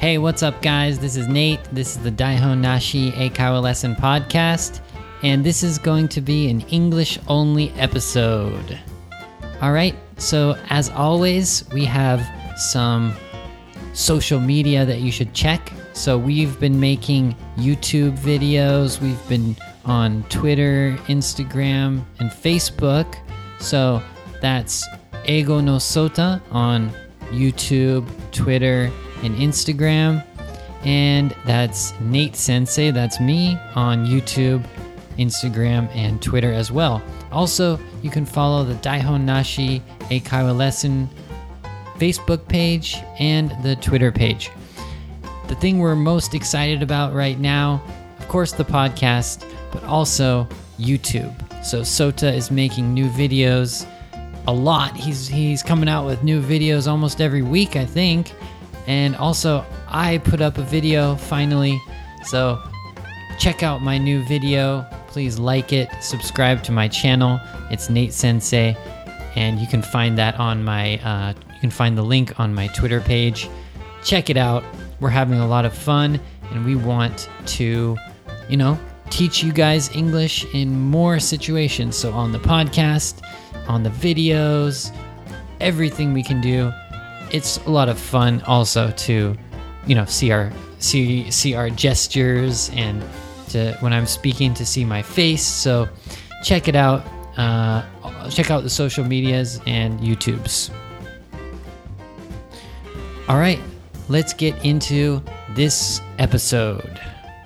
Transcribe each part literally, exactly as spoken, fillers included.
Hey, what's up, guys? This is Nate. This is the Daihon Nashi Eikaiwa Lesson Podcast, and this is going to be an English-only episode. All right, so as always, we have some social media that you should check. So we've been making YouTube videos. We've been on Twitter, Instagram, and Facebook. So that's Eigo no Sota on YouTube, Twitter, and Instagram. And that's Nate Sensei, that's me, on YouTube, Instagram, and Twitter as well. Also, you can follow the Daihon Nashi Eikaiwa Lesson Facebook page and the Twitter page. The thing we're most excited about right now, of course, the podcast, but also YouTube. So Sota is making new videos a lot. He's he's coming out with new videos almost every week, I think. And also, I put up a video finally. So check out my new video. Please like it, subscribe to my channel. It's Nate Sensei, and you can find that on my uh, you can find the link on my Twitter page. Check it out. We're having a lot of fun, and we want to, you know, teach you guys English in more situations. So on the podcast, on the videos, everything we can do. It's a lot of fun also to, you know, see our see see our gestures and to when I'm speaking to see my face. So check it out. Uh, check out the social medias and YouTubes. All right, let's get into this episode.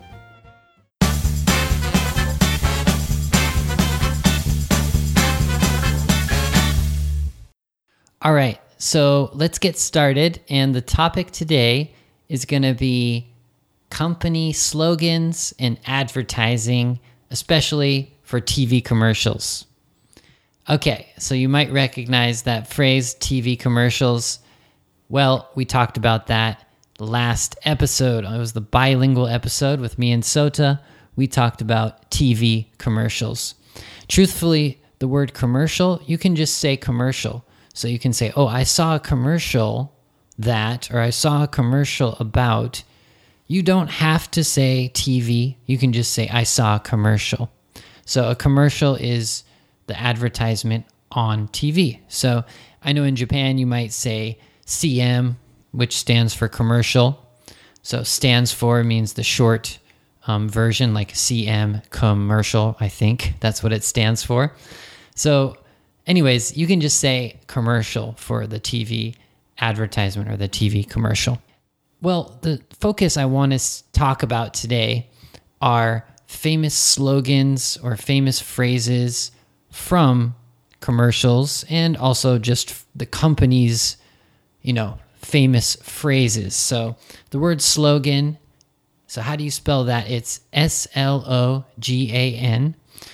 All right, so let's get started. And the topic today is going to be company slogans and advertising, especially for T V commercials. Okay, so you might recognize that phrase, T V commercials. Well, we talked about that last episode. It was the bilingual episode with me and Sota. We talked about T V commercials. Truthfully, the word commercial, you can just say commercial. So you can say, oh, I saw a commercial that, or I saw a commercial about. You don't have to say T V. You can just say, I saw a commercial. So a commercial is the advertisement on T V. So I know in Japan you might say C M, which stands for commercial. So stands for means the short um, version, like C M, commercial, I think. That's what it stands for. So anyways, you can just say commercial for the T V advertisement or the T V commercial. Well, the focus I want to talk about today are famous slogans or famous phrases from commercials and also just the company's, you know, famous phrases. So the word slogan, so how do you spell that? It's S L O G A N.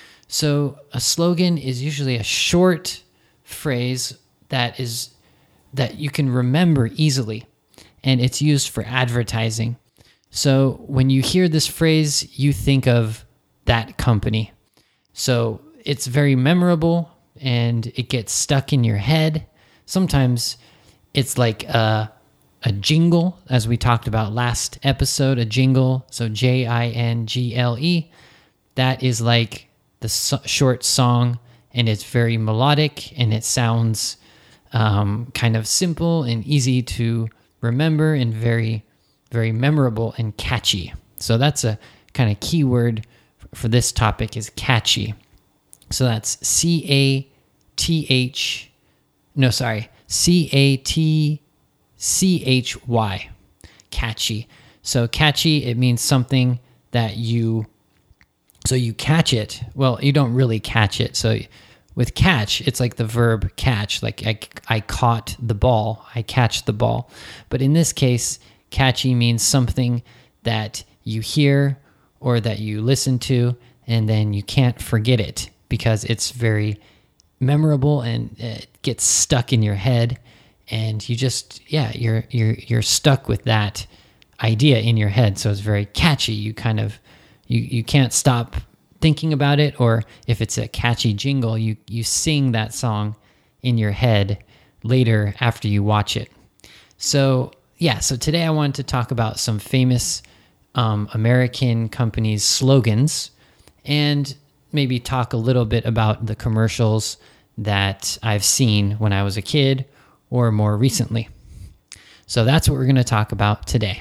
So a slogan is usually a short phrase that is that you can remember easily, and it's used for advertising. So when you hear this phrase, you think of that company. So it's very memorable and it gets stuck in your head. Sometimes it's like a, a jingle, as we talked about last episode, a jingle. So J I N G L E. That is like the so- short song, and it's very melodic, and it sounds um, kind of simple and easy to remember and very, very memorable and catchy. So that's a kind of keyword for this topic is catchy. So that's C A T H, no, sorry, C A T C H Y, catchy. So catchy, it means something that you So you catch it. Well, you don't really catch it. So with catch, it's like the verb catch. Like I, I caught the ball. I catch the ball. But in this case, catchy means something that you hear or that you listen to, and then you can't forget it because it's very memorable and it gets stuck in your head. And you just, yeah, you're you're you're stuck with that idea in your head. So it's very catchy. You kind of You you can't stop thinking about it, or if it's a catchy jingle, you, you sing that song in your head later after you watch it. So yeah, so today I wanted to talk about some famous um, American companies' slogans and maybe talk a little bit about the commercials that I've seen when I was a kid or more recently. So that's what we're going to talk about today.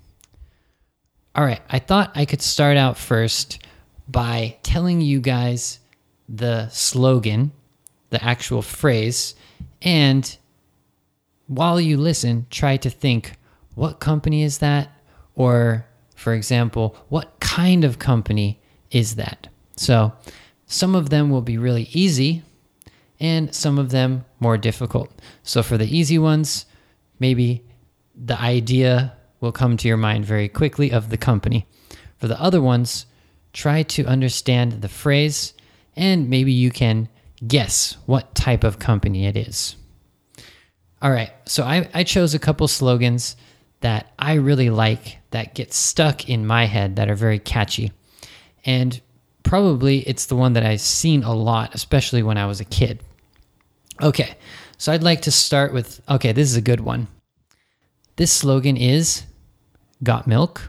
All right, I thought I could start out first by telling you guys the slogan, the actual phrase, and while you listen, try to think, what company is that? Or, for example, what kind of company is that? So some of them will be really easy and some of them more difficult. So for the easy ones, maybe the idea will come to your mind very quickly of the company. For the other ones, try to understand the phrase and maybe you can guess what type of company it is. All right, so I, I chose a couple slogans that I really like that get stuck in my head that are very catchy. And probably it's the one that I've seen a lot, especially when I was a kid. Okay, so I'd like to start with, okay, this is a good one. This slogan is, got milk?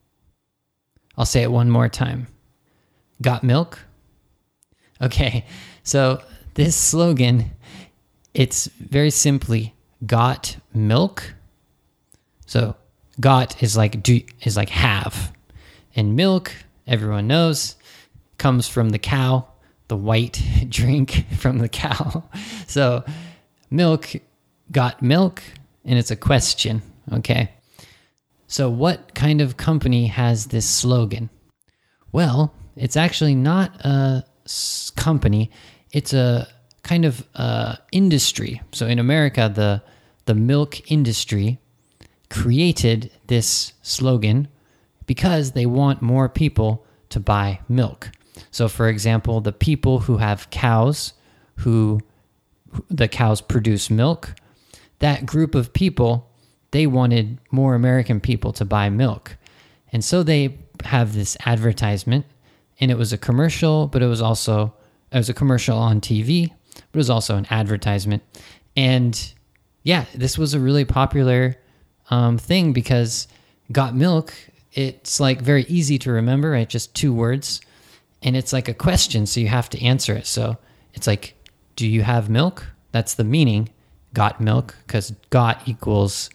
I'll say it one more time. Got milk? Okay, so this slogan, it's very simply, got milk? So got is like do is like have. And milk, everyone knows, comes from the cow, the white drink from the cow. So milk, got milk, and it's a question, okay? So what kind of company has this slogan? Well, it's actually not a s- company, it's a kind of uh, industry. So in America, the the milk industry created this slogan because they want more people to buy milk. So for example, the people who have cows, who the cows produce milk, that group of people, they wanted more American people to buy milk. And so they have this advertisement, and it was a commercial, but it was also it was a commercial on T V, but it was also an advertisement. And yeah, this was a really popular um, thing because got milk, it's like very easy to remember, right? Just two words. And it's like a question, so you have to answer it. So it's like, do you have milk? That's the meaning, got milk, because got equals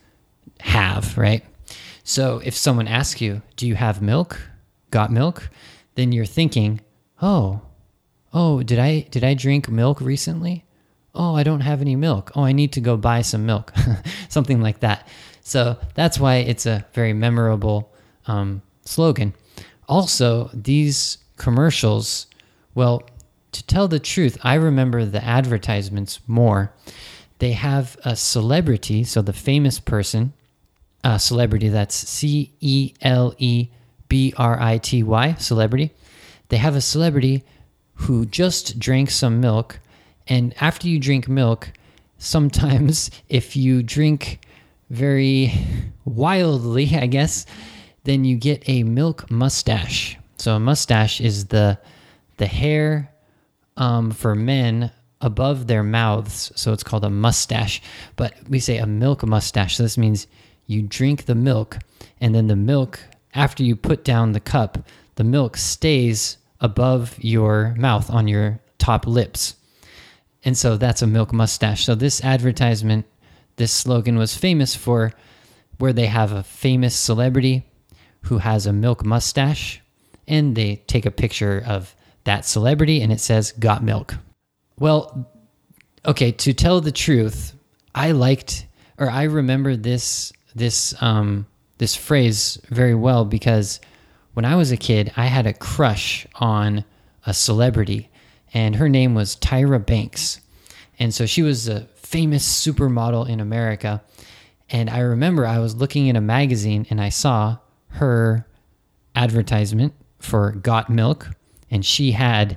have, right? So if someone asks you, do you have milk? Got milk? Then you're thinking, oh, oh, did I did I drink milk recently? Oh, I don't have any milk. Oh, I need to go buy some milk. Something like that. So that's why it's a very memorable um, slogan. Also, these commercials, well, to tell the truth, I remember the advertisements more. They have a celebrity, so the famous person, a celebrity, that's C E L E B R I T Y, celebrity. They have a celebrity who just drank some milk, and after you drink milk, sometimes if you drink very wildly, I guess, then you get a milk mustache. So a mustache is the the hair um, for men above their mouths, so it's called a mustache. But we say a milk mustache, so this means you drink the milk, and then the milk, after you put down the cup, the milk stays above your mouth on your top lips. And so that's a milk mustache. So this advertisement, this slogan was famous for where they have a famous celebrity who has a milk mustache, and they take a picture of that celebrity and it says, got milk. Well, okay, to tell the truth, I liked, or I remember this this um, this phrase very well because when I was a kid, I had a crush on a celebrity, and her name was Tyra Banks. And so she was a famous supermodel in America. And I remember I was looking in a magazine and I saw her advertisement for Got Milk, and she had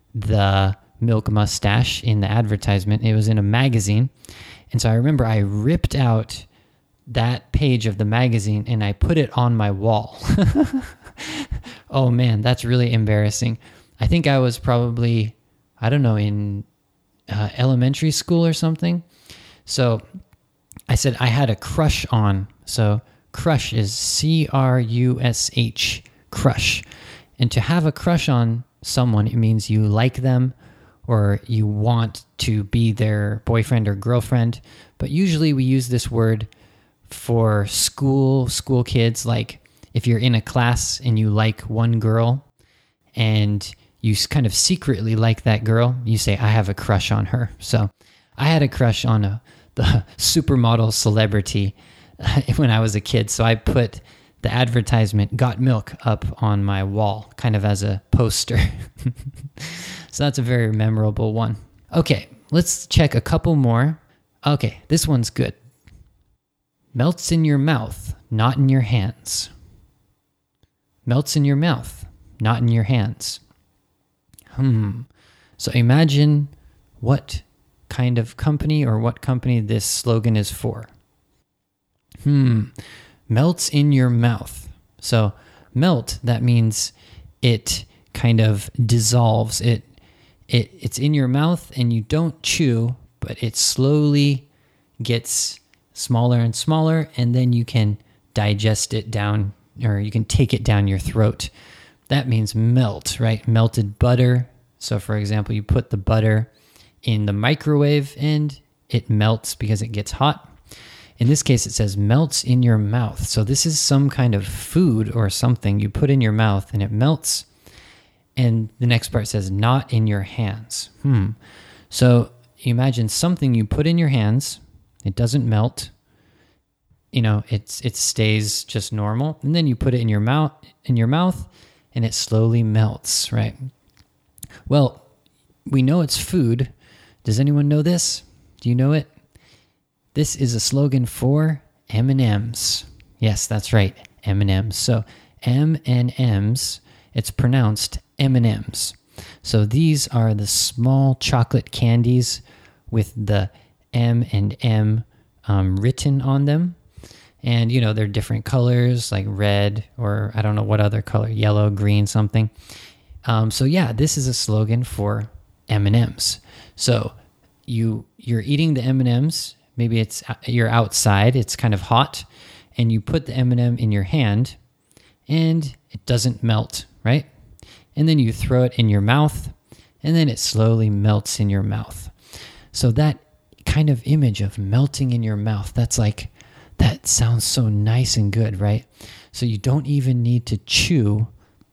the milk mustache in the advertisement. It was in a magazine. And so I remember I ripped out that page of the magazine and I put it on my wall. Oh man, that's really embarrassing. I think I was probably, I don't know, in uh, elementary school or something. So I said I had a crush on So crush is C R U S H, crush. And to have a crush on someone, it means you like them or you want to be their boyfriend or girlfriend. But usually we use this word for school, school kids. Like if you're in a class and you like one girl and you kind of secretly like that girl, you say, I have a crush on her. So I had a crush on a, the supermodel celebrity when I was a kid. So I put the advertisement Got Milk up on my wall, kind of as a poster. So that's a very memorable one. Okay, let's check a couple more. Okay, this one's good. Melts in your mouth, not in your hands. Melts in your mouth, not in your hands. Hmm. So imagine what kind of company or what company this slogan is for. Hmm. Melts in your mouth. So melt, that means it kind of dissolves. It it it's in your mouth and you don't chew, but it slowly gets smaller and smaller, and then you can digest it down, or you can take it down your throat. That means melt, right? Melted butter. So for example, you put the butter in the microwave and it melts because it gets hot. In this case, it says melts in your mouth. So this is some kind of food or something you put in your mouth and it melts. And the next part says not in your hands. Hmm. So you imagine something you put in your hands, it doesn't melt. You know, it's it stays just normal. And then you put it in your mouth, in your mouth, and it slowly melts, right? Well, we know it's food. Does anyone know this? Do you know it? This is a slogan for M and M's. Yes, that's right, M and M's. So M and M's, it's pronounced M and M's. So these are the small chocolate candies with the M and M um, written on them. And, you know, they're different colors, like red or I don't know what other color, yellow, green, something. Um, so yeah, this is a slogan for M and M's. So you, you're eating the M and M's. Maybe it's you're outside, it's kind of hot, and you put the M and M in your hand, and it doesn't melt, right? And then you throw it in your mouth, and then it slowly melts in your mouth. So that kind of image of melting in your mouth, that's like, that sounds so nice and good, right? So you don't even need to chew.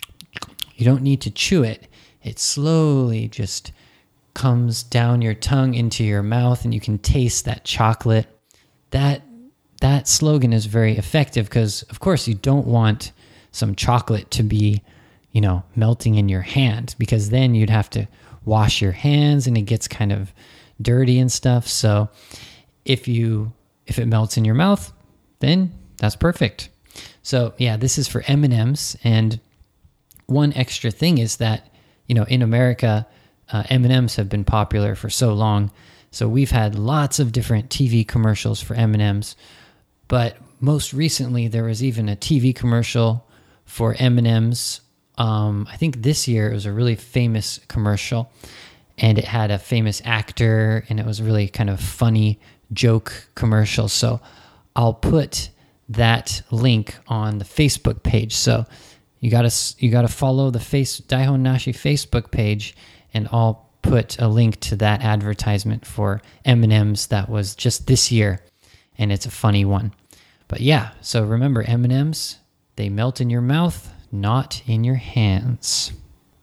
You don't need to chew it. It slowly just comes down your tongue into your mouth and you can taste that chocolate. That that slogan is very effective because, of course, you don't want some chocolate to be, you know, melting in your hand because then you'd have to wash your hands and it gets kind of dirty and stuff. So if you if it melts in your mouth, then that's perfect. So yeah, this is for M and M's. And one extra thing is that, you know, in America, Uh, M and M's have been popular for so long. So we've had lots of different T V commercials for M and M's. But most recently, there was even a T V commercial for M and M's. Um, I think this year it was a really famous commercial. And it had a famous actor. And it was a really kind of funny joke commercial. So I'll put that link on the Facebook page. So you gotta you gotta follow the face Daihon Nashi Facebook page. And I'll put a link to that advertisement for M and M's that was just this year. And it's a funny one. But yeah, so remember M and M's, they melt in your mouth, not in your hands.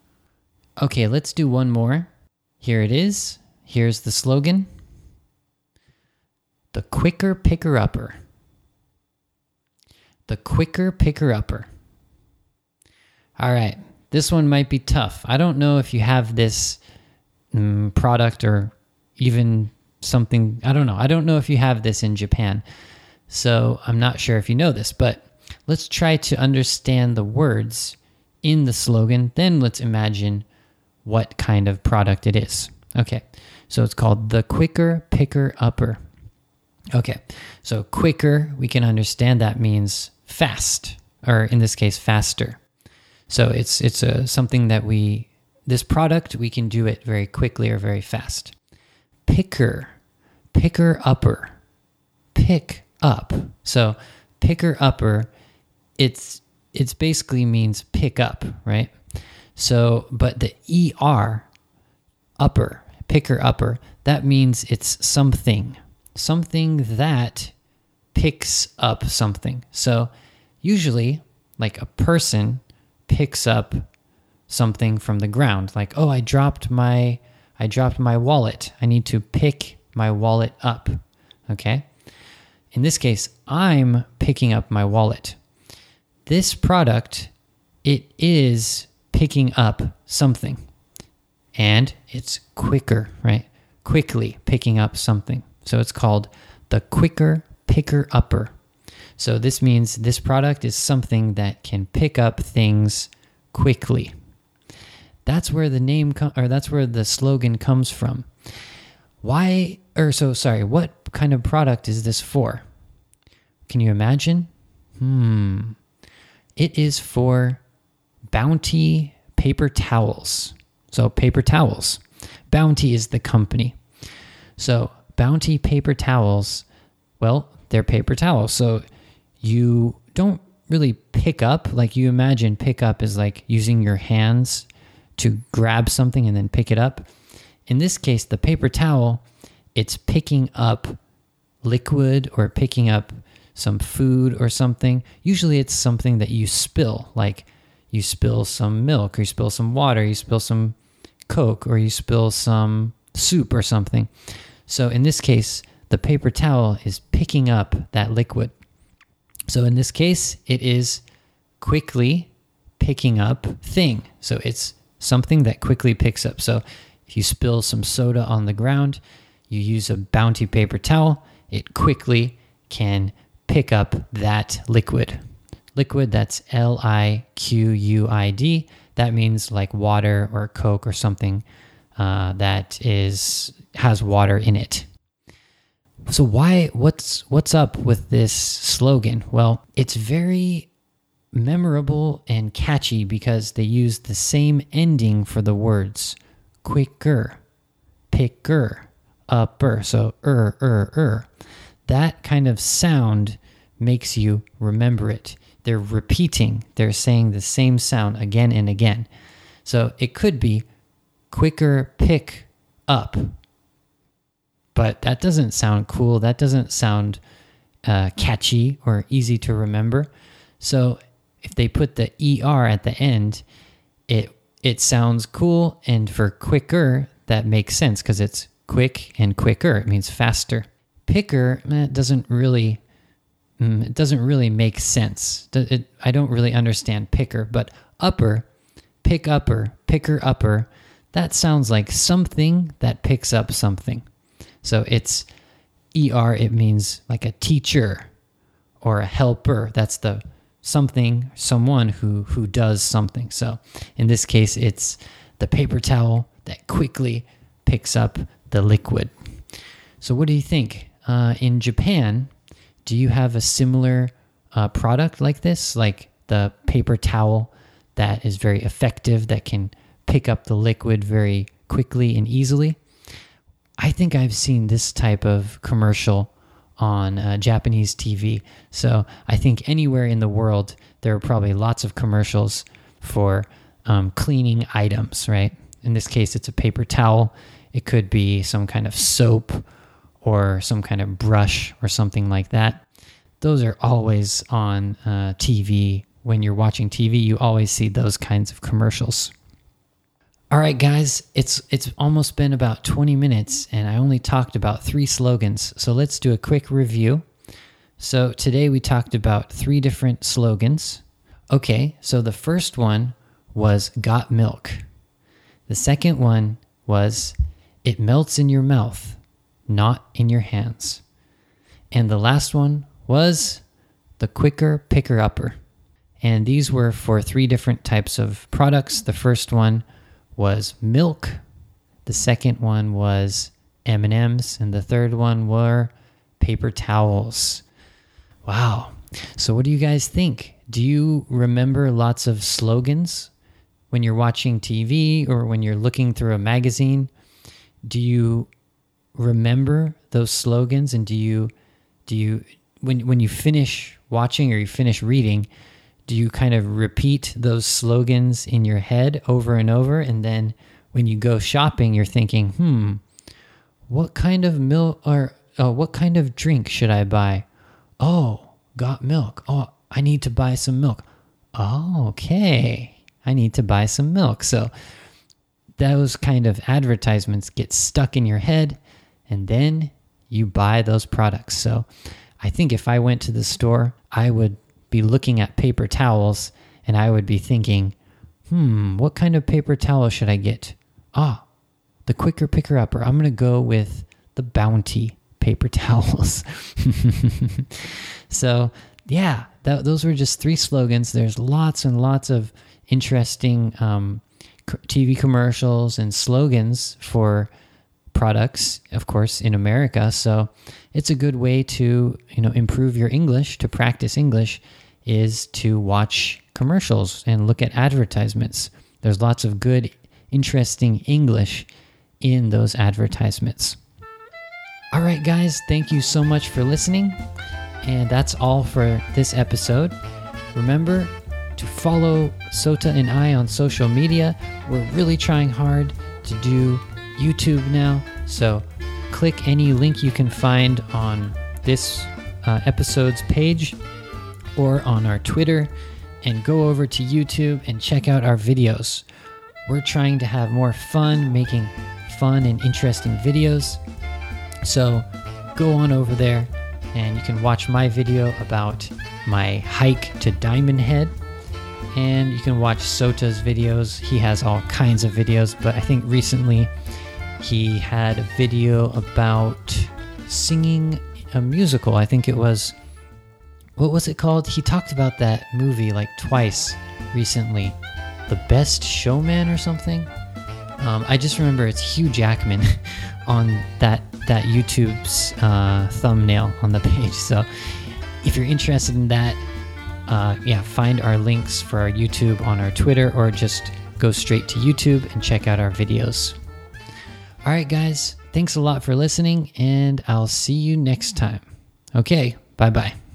Okay, let's do one more. Here it is. Here's the slogan. The quicker picker-upper. The quicker picker-upper. All right. This one might be tough. I don't know if you have this um, product or even something. I don't know. I don't know if you have this in Japan. So I'm not sure if you know this, but let's try to understand the words in the slogan. Then let's imagine what kind of product it is. Okay. So it's called the quicker picker upper. Okay. So quicker, we can understand that means fast, or in this case, faster. So it's it's a something that we, this product, we can do it very quickly or very fast. Picker, picker upper, pick up. So picker upper, it's it's basically means pick up, right? So, but the E R, upper, picker upper, that means it's something, something that picks up something. So usually, like a person picks up something from the ground, like, oh, I dropped my I dropped my wallet. I need to pick my wallet up. Okay? In this case, I'm picking up my wallet. This product, it is picking up something. And it's quicker, right? Quickly picking up something. So it's called the quicker picker upper. So this means this product is something that can pick up things quickly. That's where the name com- or that's where the slogan comes from. Why or so sorry, what kind of product is this for? Can you imagine? Hmm. It is for Bounty paper towels. So paper towels. Bounty is the company. So Bounty paper towels, well, they're paper towels. So you don't really pick up, like you imagine pick up is like using your hands to grab something and then pick it up. In this case, the paper towel, it's picking up liquid or picking up some food or something. Usually it's something that you spill, like you spill some milk or you spill some water, you spill some Coke or you spill some soup or something. So in this case, the paper towel is picking up that liquid. So in this case, it is quickly picking up thing. So it's something that quickly picks up. So if you spill some soda on the ground, you use a Bounty paper towel, it quickly can pick up that liquid. Liquid, that's L I Q U I D. That means like water or Coke or something uh, that is has water in it. So why, what's what's up with this slogan? Well, it's very memorable and catchy because they use the same ending for the words. Quicker, picker, upper. So er, er, er. That kind of sound makes you remember it. They're repeating. They're saying the same sound again and again. So it could be quicker pick up. But that doesn't sound cool. That doesn't sound uh, catchy or easy to remember. So if they put the E R at the end, it it sounds cool. And for quicker, that makes sense because it's quick and quicker. It means faster. Picker, eh, it doesn't really, mm, it doesn't really make sense. It, it, I don't really understand picker. But upper, pick upper, picker upper, that sounds like something that picks up something. So it's E R, it means like a teacher or a helper. That's the something, someone who, who does something. So in this case, it's the paper towel that quickly picks up the liquid. So what do you think? Uh, in Japan, do you have a similar uh, product like this? Like the paper towel that is very effective, that can pick up the liquid very quickly and easily? I think I've seen this type of commercial on uh, Japanese T V. So I think anywhere in the world, there are probably lots of commercials for um, cleaning items, right? In this case, it's a paper towel. It could be some kind of soap or some kind of brush or something like that. Those are always on uh, T V. When you're watching T V, you always see those kinds of commercials. All right, guys, it's it's almost been about twenty minutes, and I only talked about three slogans. So let's do a quick review. So today we talked about three different slogans. Okay, so the first one was Got Milk. The second one was It Melts in Your Mouth, Not in Your Hands. And the last one was the Quicker Picker Upper. And these were for three different types of products. The first one was milk. The second one was M and M's. And the third one were paper towels. Wow. So what do you guys think? Do you remember lots of slogans when you're watching T V or when you're looking through a magazine? Do you remember those slogans, and do you do you when when you finish watching or you finish reading, do you kind of repeat those slogans in your head over and over? And then when you go shopping, you're thinking, hmm, what kind of milk or uh, what kind of drink should I buy? Oh, got milk. Oh, I need to buy some milk. Oh, okay. I need to buy some milk. So those kind of advertisements get stuck in your head, and then you buy those products. So I think if I went to the store, I would be looking at paper towels and I would be thinking, hmm, what kind of paper towel should I get? Ah, the quicker picker upper. I'm going to go with the Bounty paper towels. So yeah, that, those were just three slogans. There's lots and lots of interesting um, T V commercials and slogans for products, of course, in America. So it's a good way to, you know, improve your English, to practice English, is to watch commercials and look at advertisements. There's lots of good, interesting English in those advertisements. All right, guys, thank you so much for listening. And that's all for this episode. Remember to follow Sota and I on social media. We're really trying hard to do YouTube now. So click any link you can find on this uh, episode's page or on our Twitter and go over to YouTube and check out our videos. We're trying to have more fun making fun and interesting videos. So go on over there and you can watch my video about my hike to Diamond Head. And you can watch Sota's videos. He has all kinds of videos, but I think recently he had a video about singing a musical. I think it was, what was it called? He talked about that movie like twice recently. The Best Showman or something? Um, I just remember it's Hugh Jackman on that that YouTube's uh, thumbnail on the page. So if you're interested in that, uh, yeah, find our links for our YouTube on our Twitter, or just go straight to YouTube and check out our videos. All right, guys, thanks a lot for listening, and I'll see you next time. Okay, bye-bye.